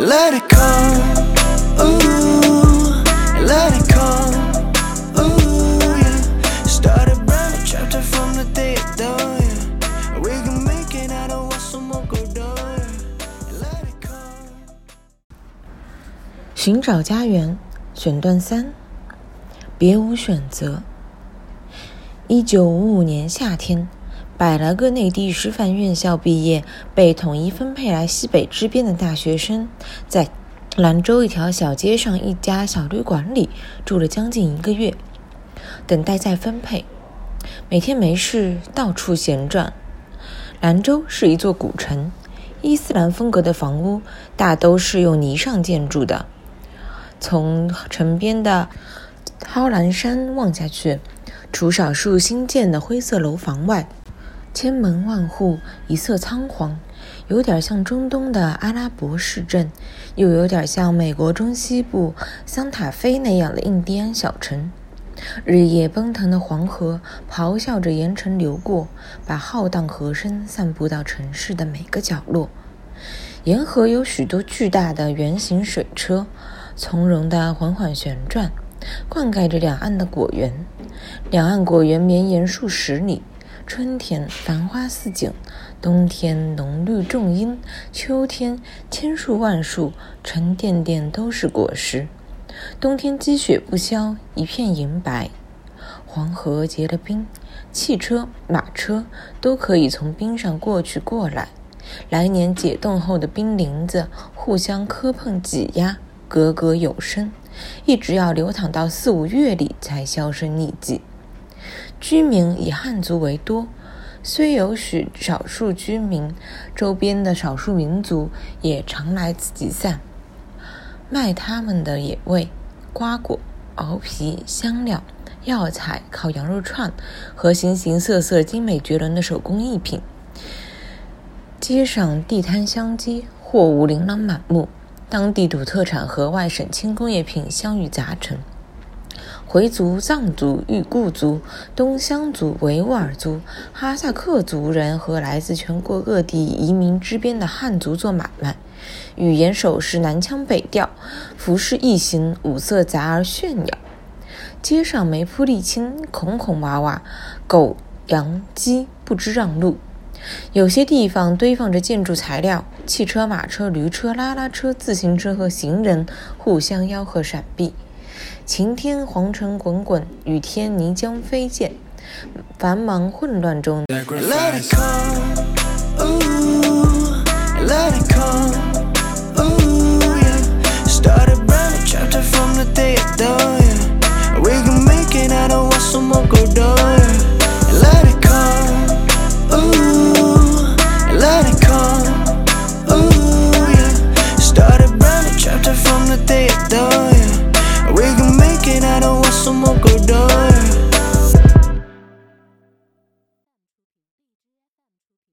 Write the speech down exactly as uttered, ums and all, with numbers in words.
Let it come, ooh, let it come, ooh, yeah. Start a brand new chapter from the day it done, yeah. We can make it out of what someone go down, yeah. Let it come. 寻找家园选段三，别无选择。一九五五年夏天，百来个内地师范院校毕业被统一分配来西北支边的大学生，在兰州一条小街上一家小旅馆里住了将近一个月，等待再分配。每天没事到处闲转。兰州是一座古城，伊斯兰风格的房屋大都是用泥上建筑的。从城边的涛兰山望下去，除少数新建的灰色楼房外，千门万户，一色仓皇，有点像中东的阿拉伯市镇，又有点像美国中西部桑塔菲那样的印第安小城。日夜奔腾的黄河咆哮着沿城流过，把浩荡河声散布到城市的每个角落。沿河有许多巨大的圆形水车，从容地缓缓旋转，灌溉着两岸的果园。两岸果园绵延数十里，春天繁花似锦，冬天浓绿重荫，秋天千树万树，沉甸甸都是果实。冬天积雪不消，一片银白。黄河结了冰，汽车、马车都可以从冰上过去过来。来年解冻后的冰林子互相磕碰挤压，格格有声，一直要流淌到四五月里才销声匿迹。居民以汉族为多，虽有许少数居民，周边的少数民族也常来此集散，卖他们的野味、瓜果、熬皮、香料、药材、烤羊肉串和形形色色精美绝伦的手工艺品。街上地摊相接，货物琳琅满目，当地土特产和外省轻工业品相遇杂陈。回族、藏族、裕固族、东乡族、维吾尔族、哈萨克族人和来自全国各地移民支边的汉族做买卖，语言手势南腔北调，服饰异形，五色杂而炫耀。街上没铺沥青，孔孔娃娃，狗、羊、鸡不知让路。有些地方堆放着建筑材料，汽车、马车、驴车、拉拉车、自行车和行人互相吆喝闪避。晴天黄尘滚滚，雨天泥浆飞溅，繁忙混乱中 Let it come, ooh, let it come, ooh, yeah. Start a brand new chapter from the day it done, yeah. We can make it out of what someone go down.